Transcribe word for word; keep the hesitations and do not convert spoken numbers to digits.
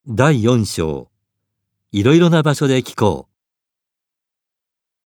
だいよん章いろいろな場所で聞こ